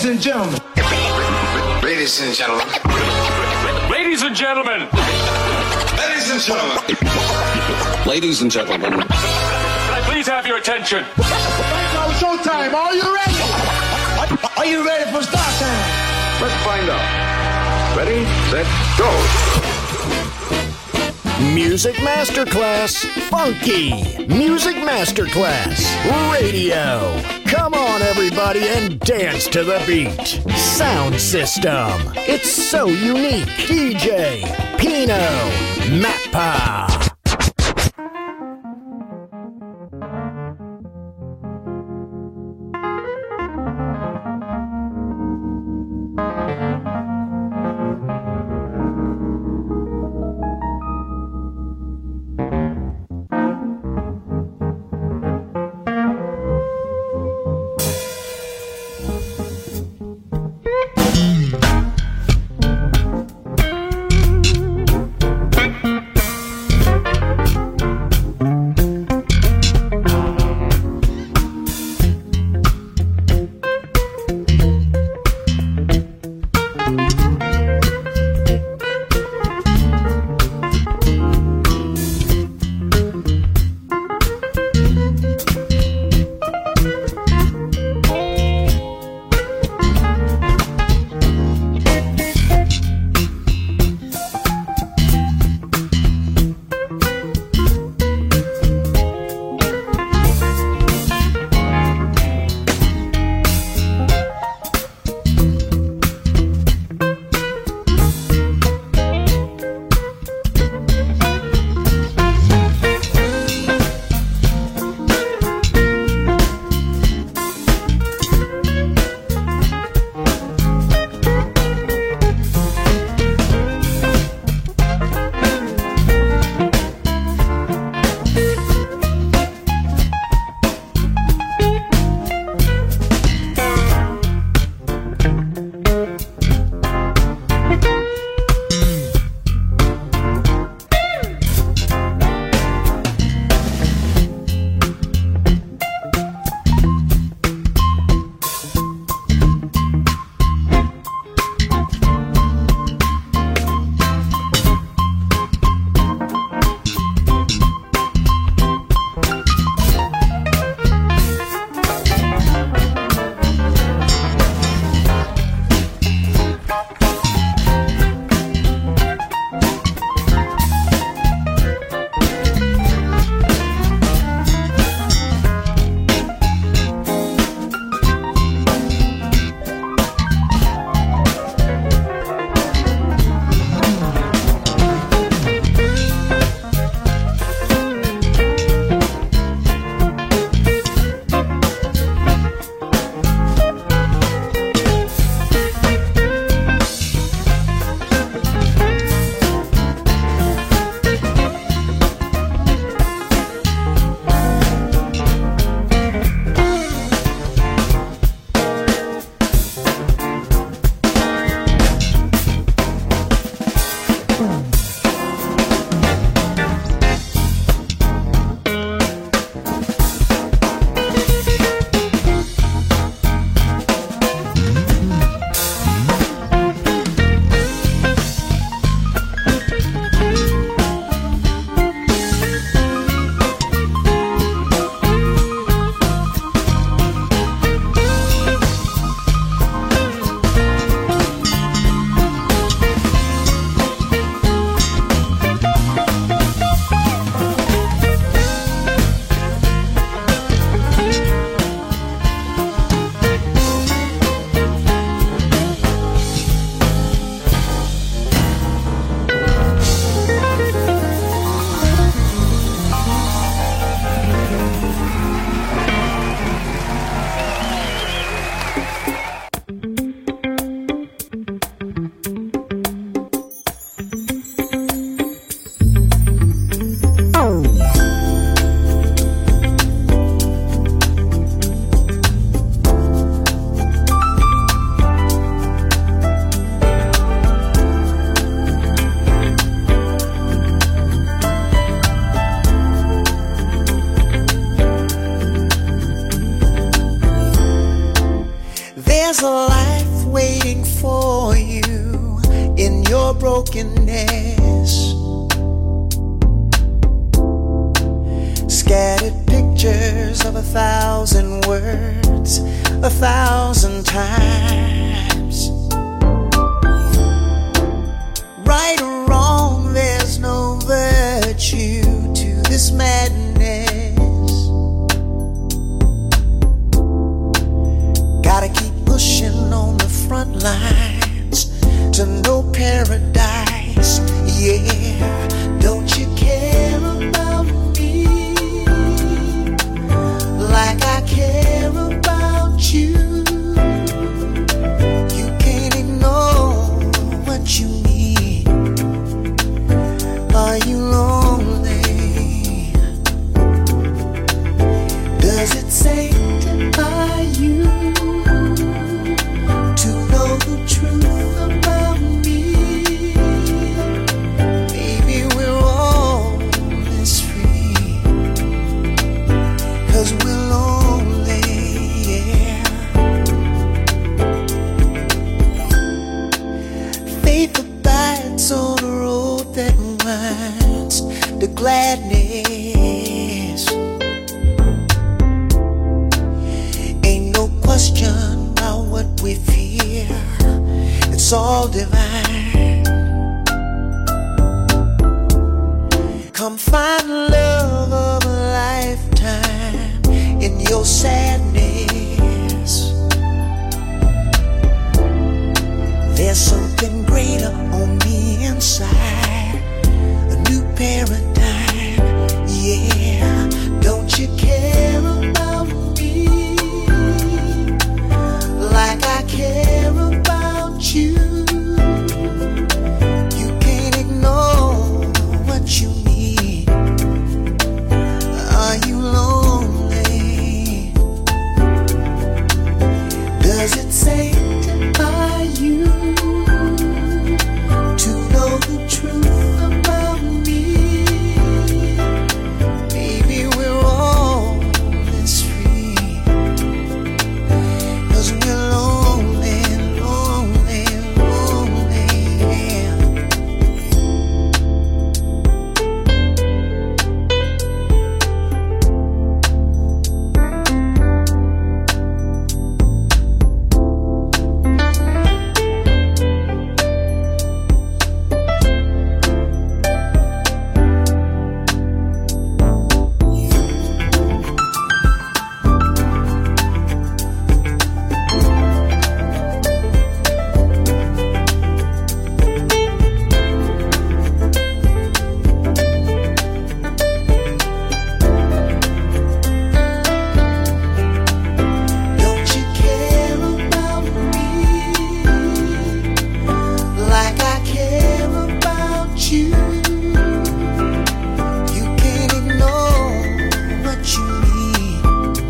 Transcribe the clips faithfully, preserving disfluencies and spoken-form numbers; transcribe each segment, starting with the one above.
and gentlemen. Ladies and gentlemen. Ladies and gentlemen. Ladies and gentlemen. Ladies and gentlemen. Can I please have your attention? Now it's showtime. Are you ready? Are you ready for start time? Let's find out. Ready, set, go. Music Masterclass Funky. Music Masterclass Radio. Come on, everybody, and dance to the beat. Sound system. It's so unique. D J Pino Mappa. There's a light waiting for you in your brokenness. Scattered pictures of a thousand words, a thousand times. Right or wrong, there's no virtue to this madness. Gotta keep pushing on the front lines to no paradise. Yeah, don't you care about me like I care about you? You can't ignore what you need. Are you lonely? Does it sanctify you to know the truth about me? Maybe we're all this free, 'cause we're lonely, yeah. Faith abides on the road that winds to gladness. Ain't no question about what we fear, it's all divine. Come find the love of a lifetime in your sadness. There's something greater on the inside, a new paradigm, yeah. Don't you care about me like I care about you? You can't ignore what you need. Are you lonely? Does it sanctify you to know the truth about me? Maybe we're all this free, 'cause we're lonely, lonely, lonely, yeah. Don't you care about me like I care about you? You can't ignore what you need.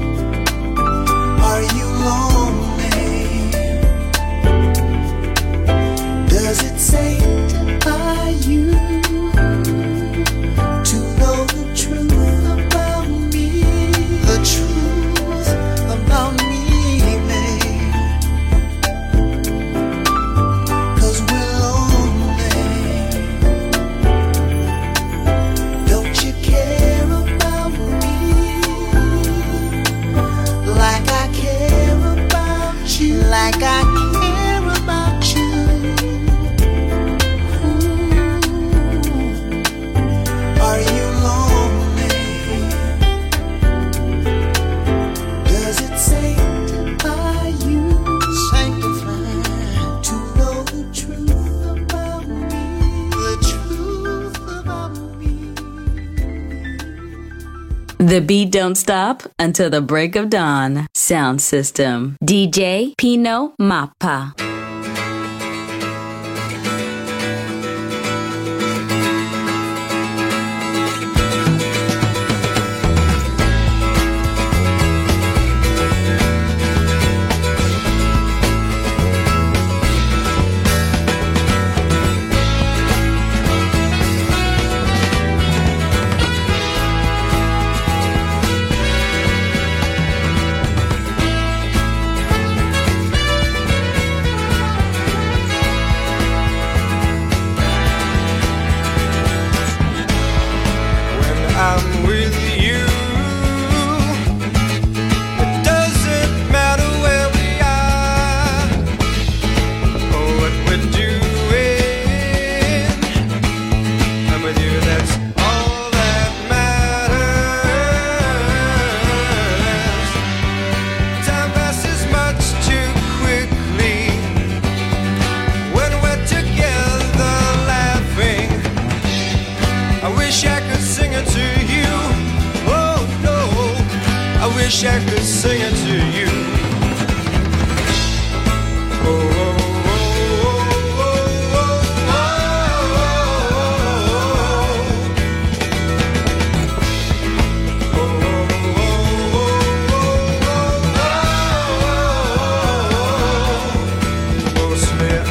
Are you lonely? Does it sanctify you to know the truth about me? The truth about me, babe. 'Cause we're lonely. Don't you care about me like I care about you? Like I care about you. Ooh. Are you lonely? Does it sanctify you? Sanctify to know the truth about me. The truth about me. The beat don't stop until the break of dawn. Sound system. D J Pino Mappa.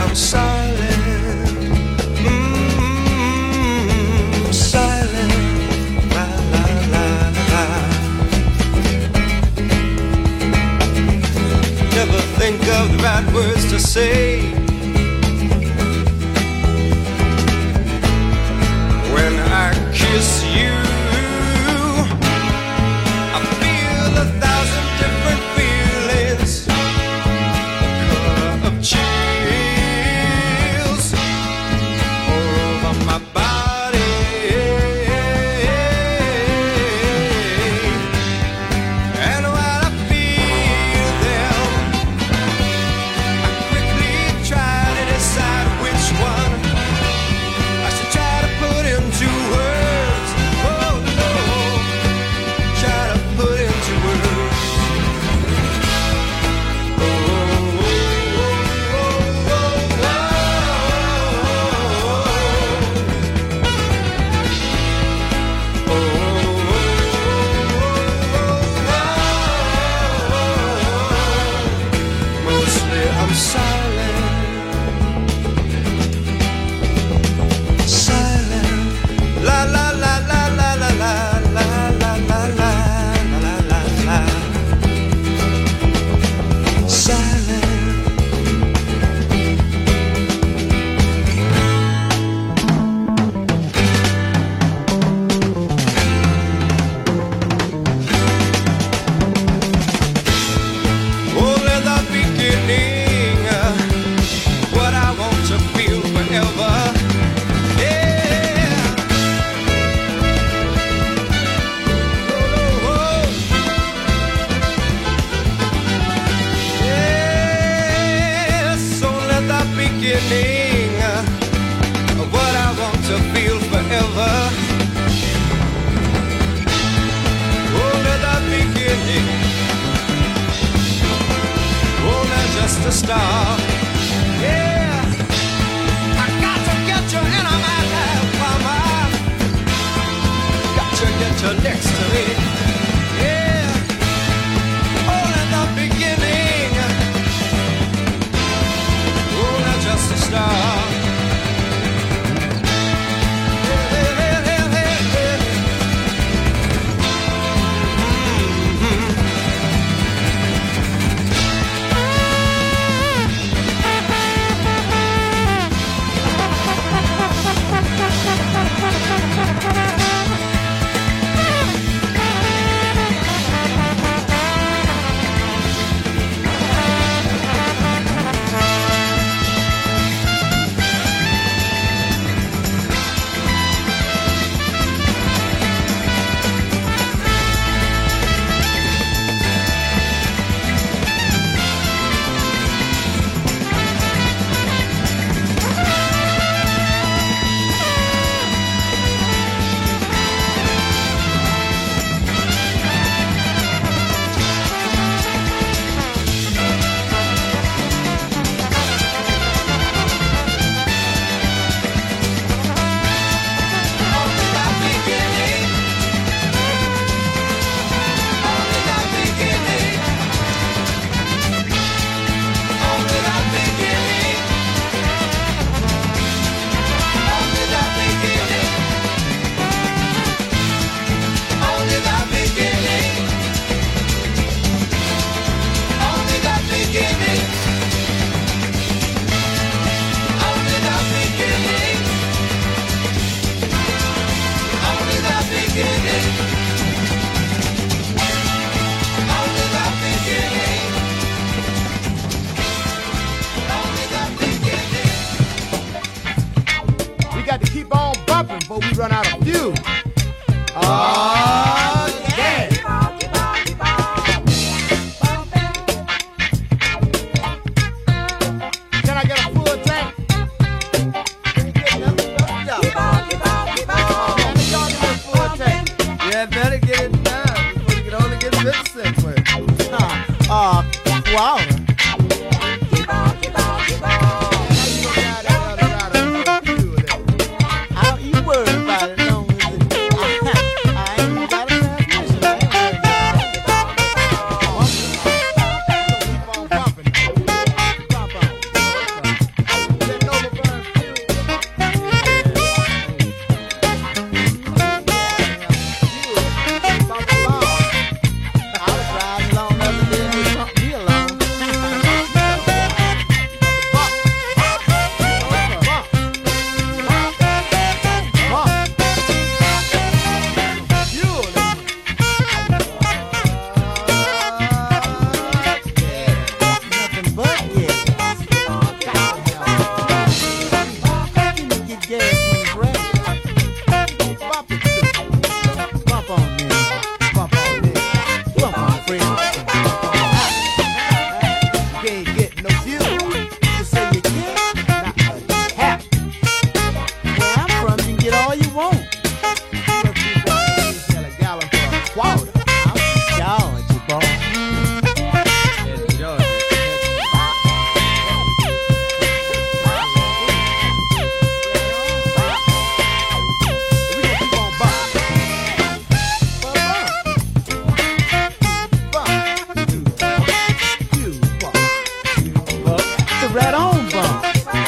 I'm silent, mm-hmm, silent, la la la la. Never think of the right words to say when I kiss you. I feel a thousand different feelings, of chills all over my body, and when I feel them, I quickly try to decide which one I should try to put into words. Oh no, try to put into words. I'm silent, silent, la la la la la la la la la la la la la la, silent. Only the beginning, what I want to feel forever. Yeah. Oh, oh. Yes, only the beginning, what I want to feel forever. Only the beginning. Oh, that's just a start. Yeah, I got to get you into my life, mama. Got to get you next to me. Yeah, all in the beginning. Oh, that's just a start. Yeah, yeah, yeah, yeah, yeah. Mm-hmm. got to keep on bumping before we run out of fuel. Oh, yeah. Keep on, keep on, keep on. Can I get a full tank? Keep on, keep on, keep on. Man, they y'all get a full tank. Yeah, better get it done before you can only get fifty cents worth. Uh, uh, wow. Keep on, keep on, keep on. Keep on bumping. Bump on. right on, bump.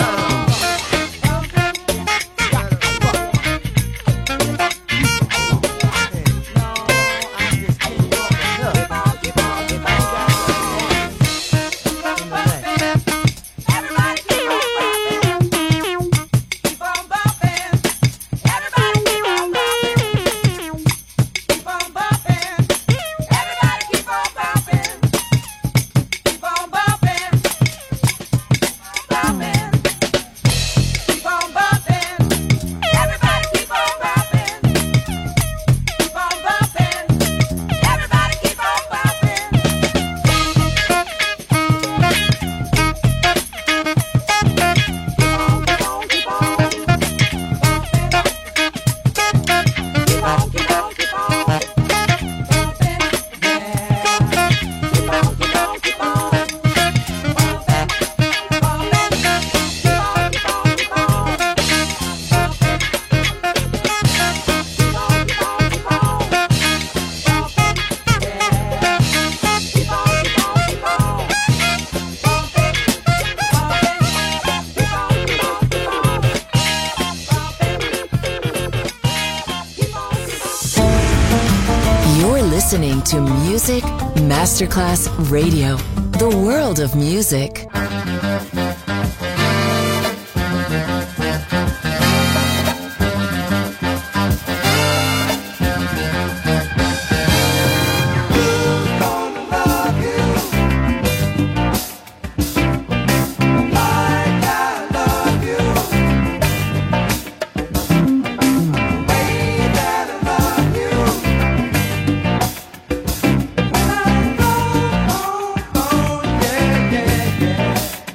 Listening to Music Masterclass Radio, the world of music. Yeah, yeah, yeah.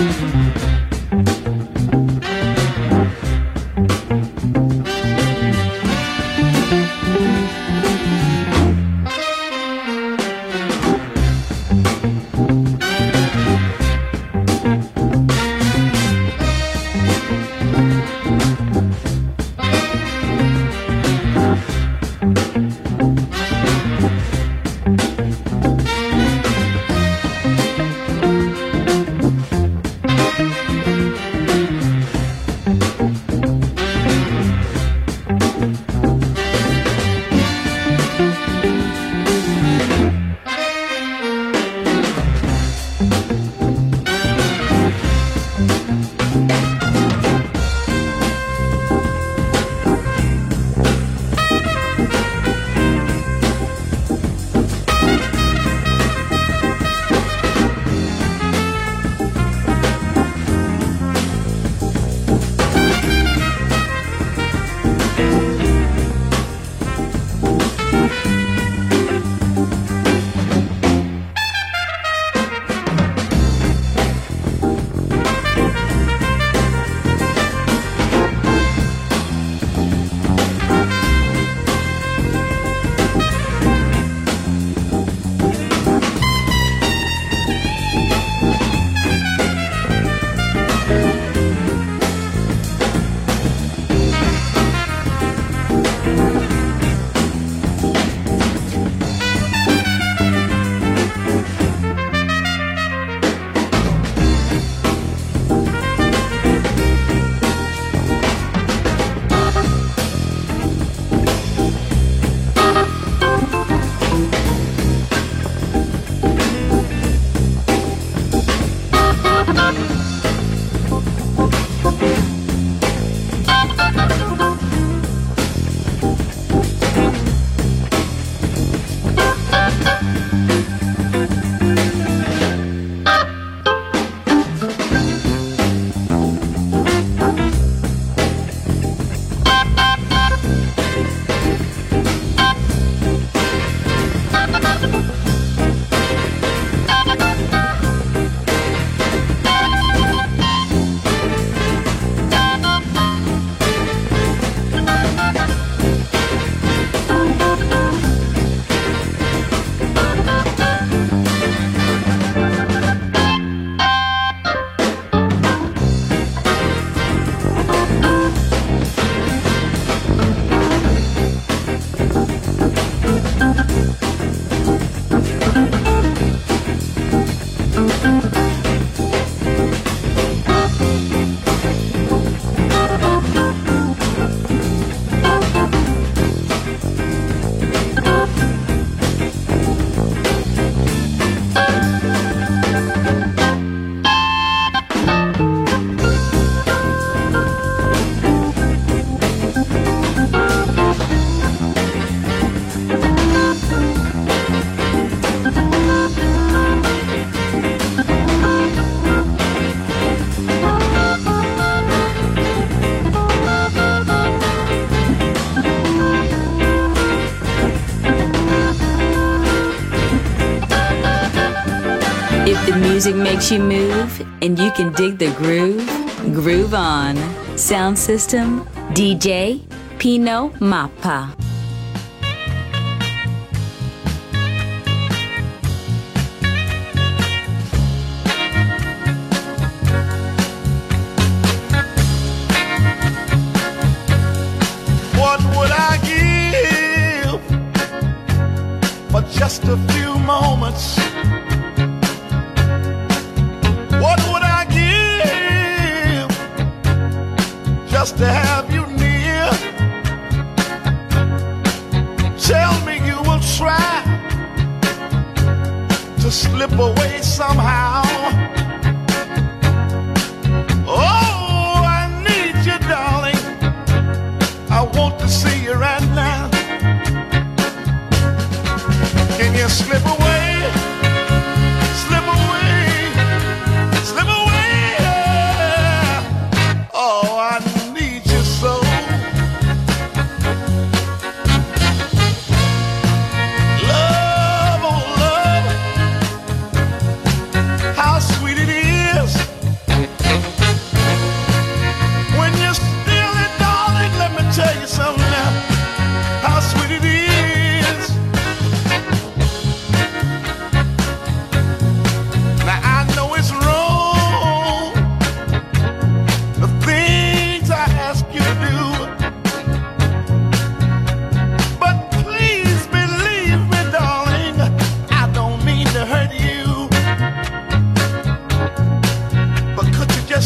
Music makes you move, and you can dig the groove. Groove on. Sound system, D J Pino Mappa. What would I give for just a few moments? What would I give just to have you near? Tell me you will try to slip away somehow. Oh, I need you, darling. I want to see you right now. Can you slip away? Slip away. Slip away. Oh, I need you so. Love, oh love. How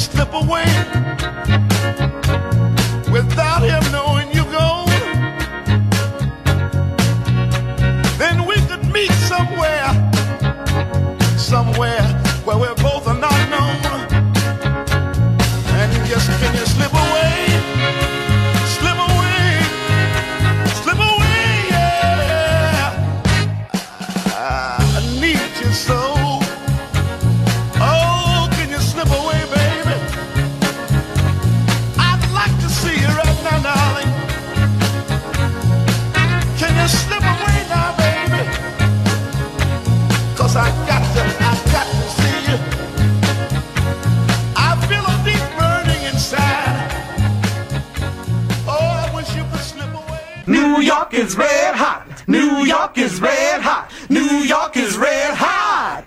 slip away without him knowing you're gone, then we could meet somewhere, somewhere where we're both are not known. And you just, can you slip away, slip away, slip away, yeah. I need you so. Oh, can you slip away, baby? I'd like to see you right now, darling. Can you slip away now, baby? 'Cause I got to, I got to see you. I feel a deep burning inside. Oh, I wish you could slip away. New York is red hot. New York is red hot. New York is red hot.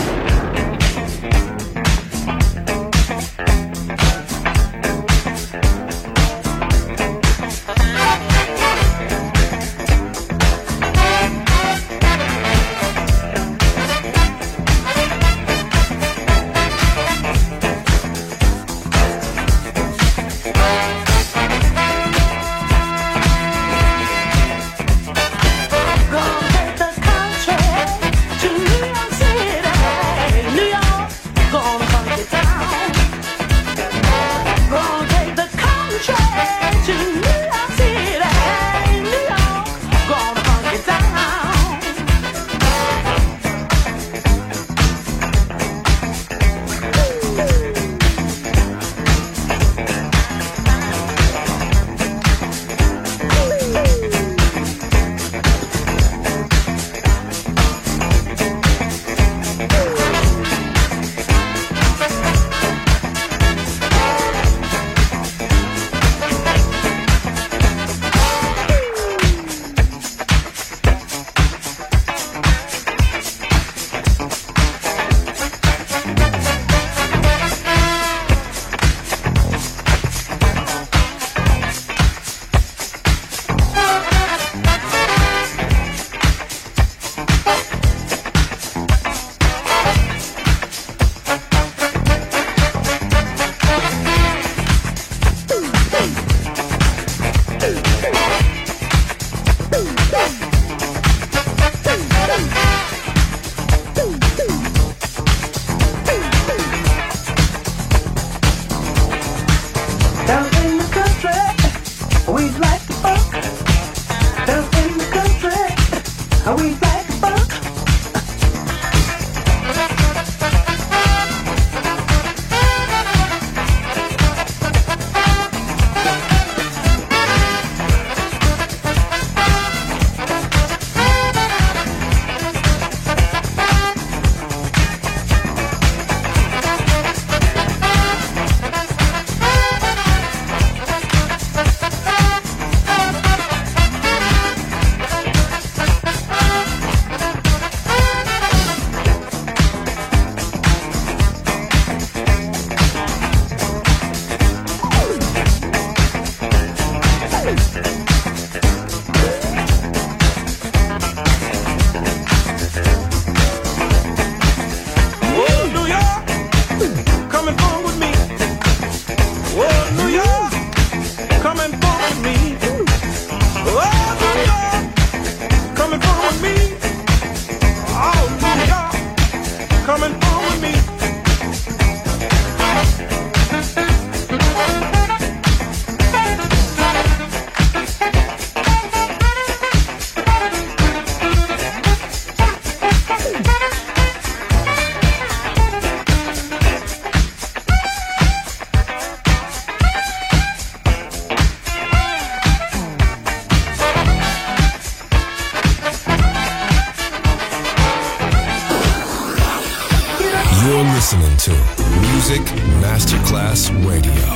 listening to Music Masterclass Radio,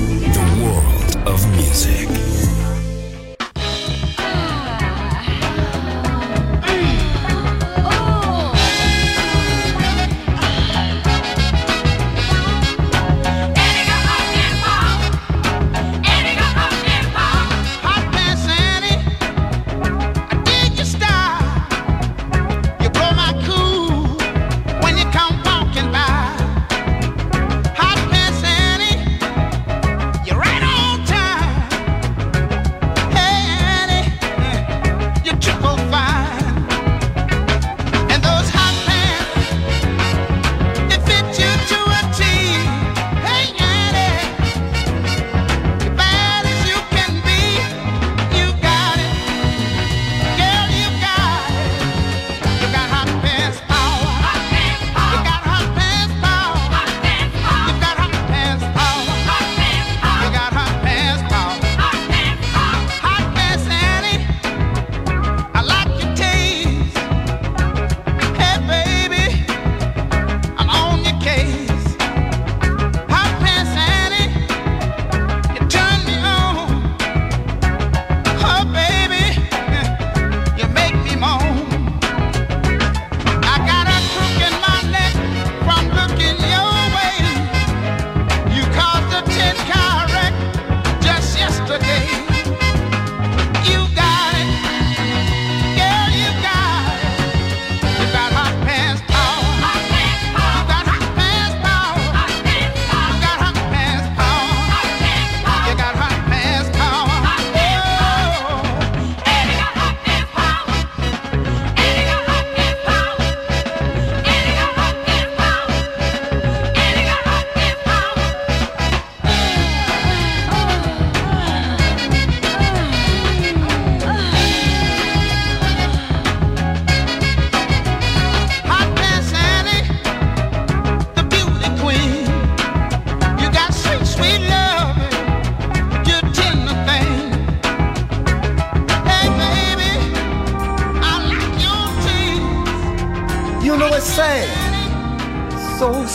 the world of music. When you come walking by, hot pants Annie.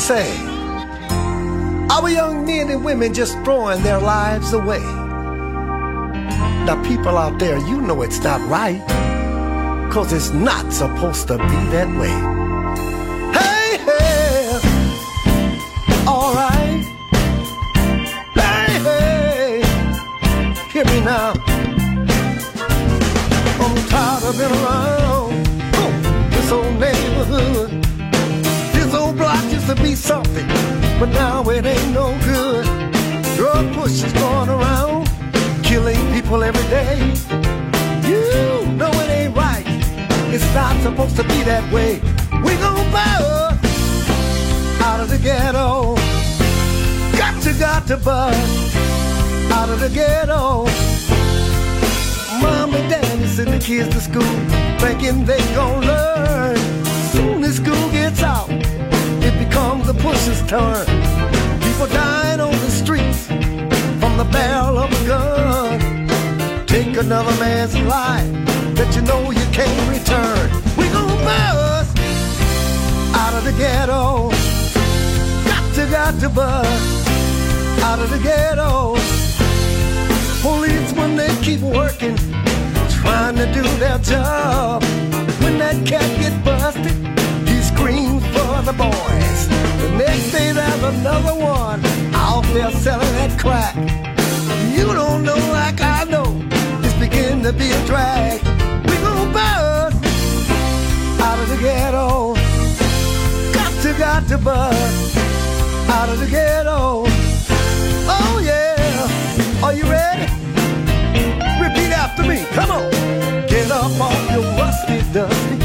say, our young men and women just throwing their lives away. Now people out there, you know it's not right, 'cause it's not supposed to be that way. Hey, hey, alright. Hey, hey, hear me now. I'm tired of being around oh, this old neighborhood. This old block used to be something, but now it ain't no good. Drug pushers going around, killing people every day. You know it ain't right. It's not supposed to be that way. We gon' bust out of the ghetto. Got to, got to bust out of the ghetto. Mom and daddy send the kids to school, thinking they gon' learn. Soon as school gets out, it becomes the pusher's turn. People dying on the streets from the barrel of a gun. Take another man's life that you know you can't return. We gon' bust out of the ghetto. Got to, got to bust out of the ghetto. Policemen, they keep working, trying to do their job. When that cat get busted, he screams for the boys. The next day there's another one out there selling that crack. You don't know like I know, it's beginning to be a drag. We gon' bust out of the ghetto. Got to, got to bust out of the ghetto. Oh yeah, are you ready? Repeat after me, come on. Get up off your rusty dusty.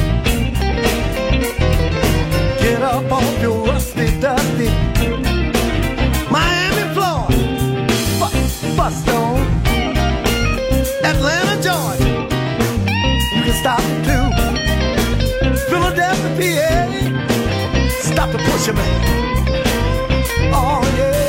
Get up off your rusty dusty. Miami, Florida, bu- bust on. Atlanta, Georgia, you can stop it too. Philadelphia, P A, stop the pusher man. Oh yeah.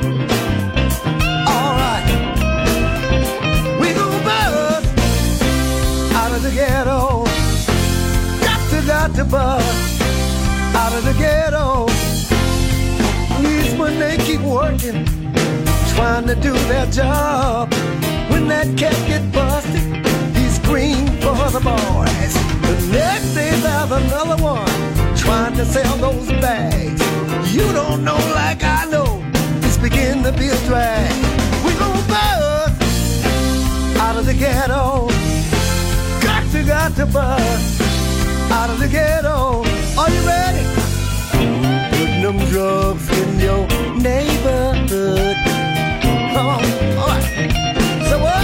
Ghetto, got to, got to bust out of the ghetto. Policemen, they keep working, trying to do their job. When that cat get busted, he screams for the boys. The next day there's another one, trying to sell those bags. You don't know like I know, it's beginning to be a drag. We gon' bust out of the ghetto. You got to bust out of the ghetto. Are you ready? Putting them drugs in your neighborhood. Come on, all right. So what?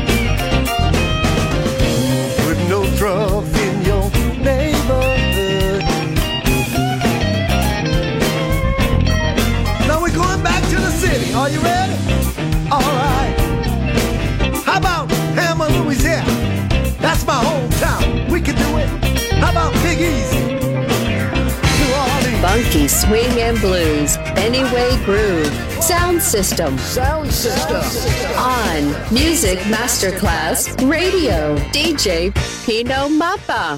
Putting those drugs in your neighborhood. Now we're going back to the city. Are you ready? All right. How about Hammer, Louisiana? That's my hometown. We can do it. How about Big Easy? New Orleans. Funky swing and blues. Anyway groove. Sound system. Sound system. On Music Masterclass Radio. D J Pino Mappa.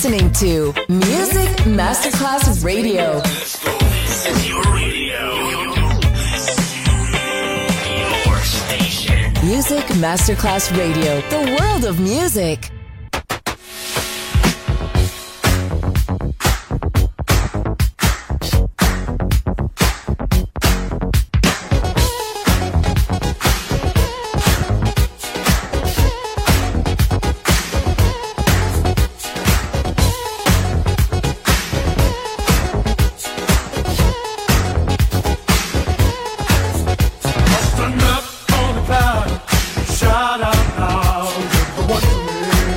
listening to Music Masterclass Radio. This is your radio. Your station. Music Masterclass Radio, the world of music. Shout out now, you're the one for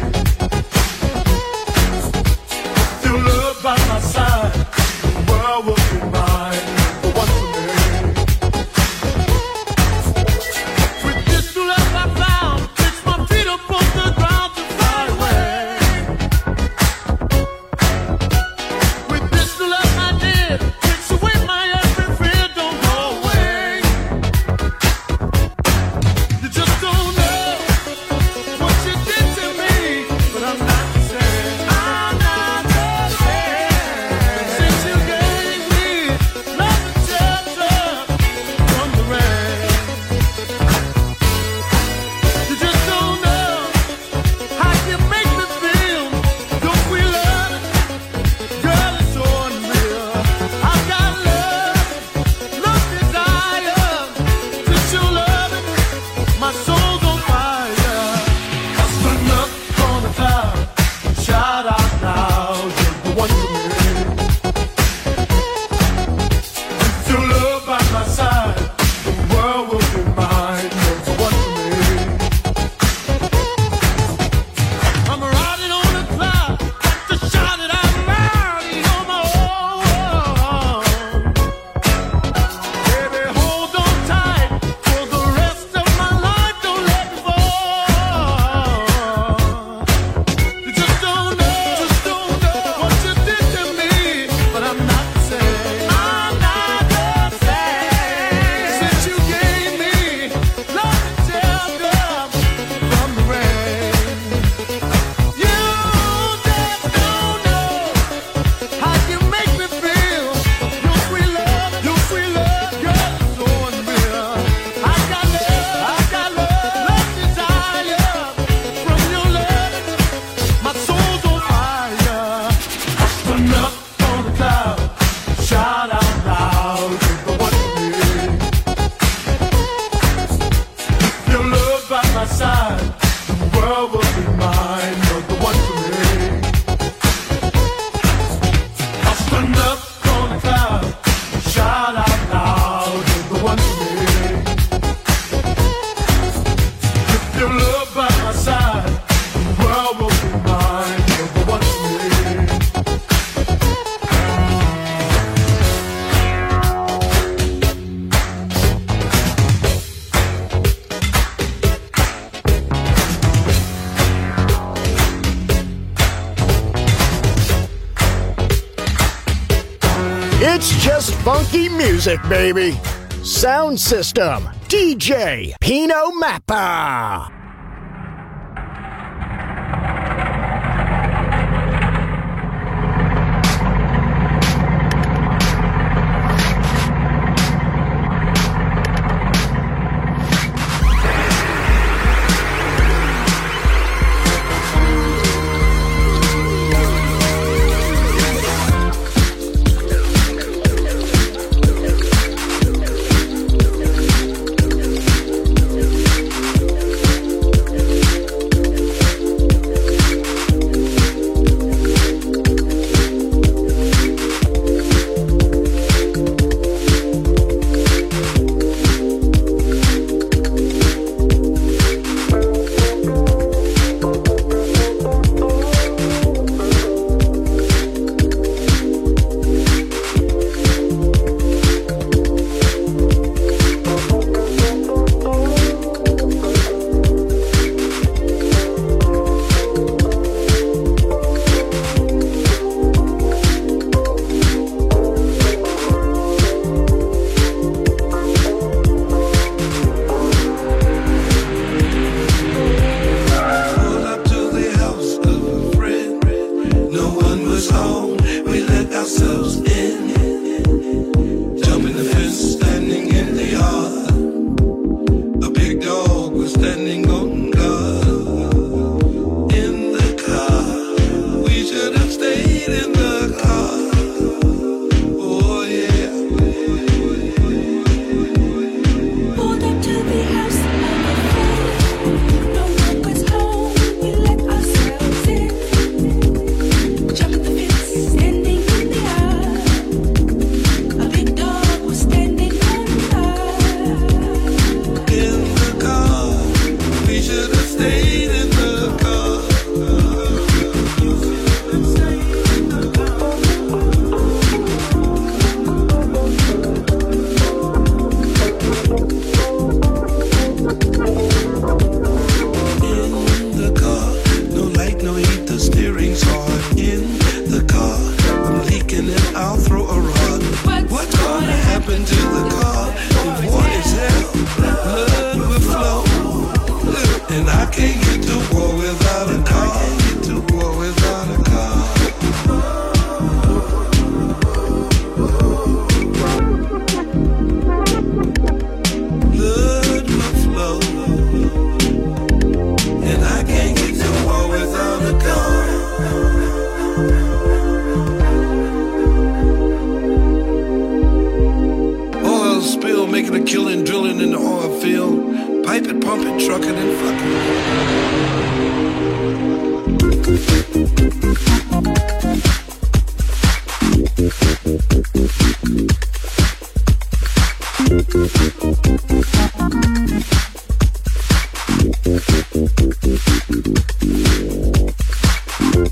It's just funky music, baby. Sound System, D J Pino Mappa.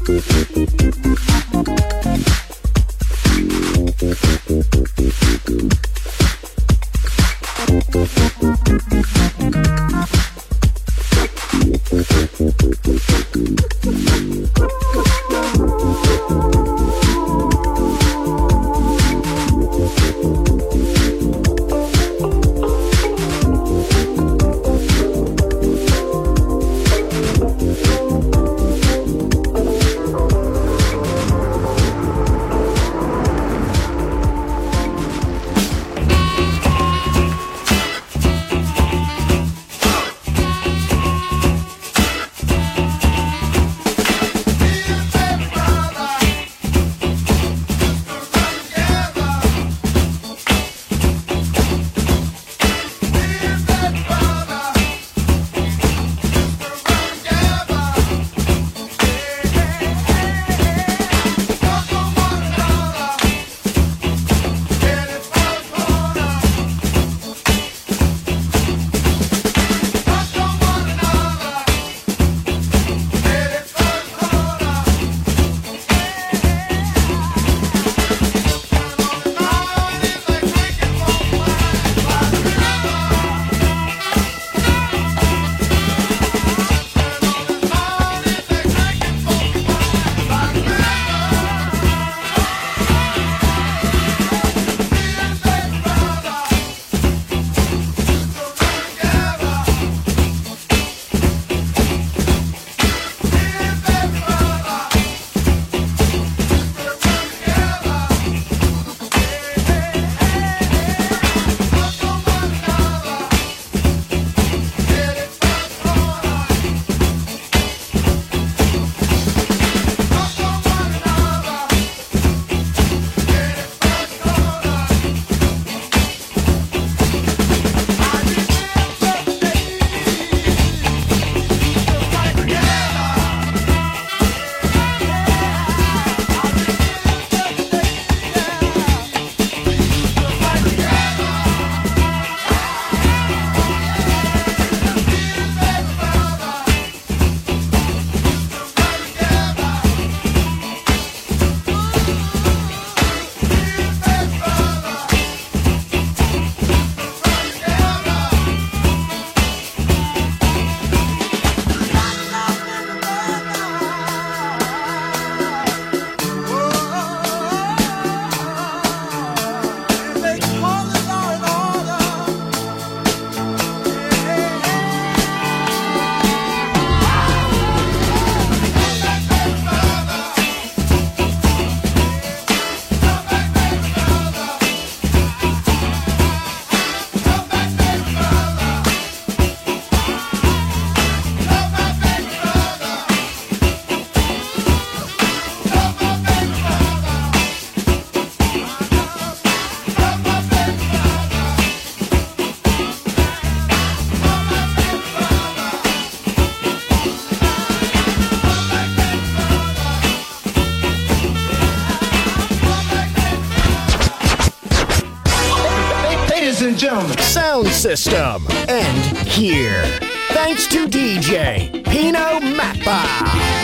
gentlemen, Sound System. And here, thanks to D J Pino Mappa.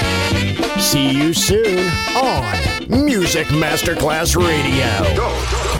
See you soon on Music Masterclass Radio. Go, go.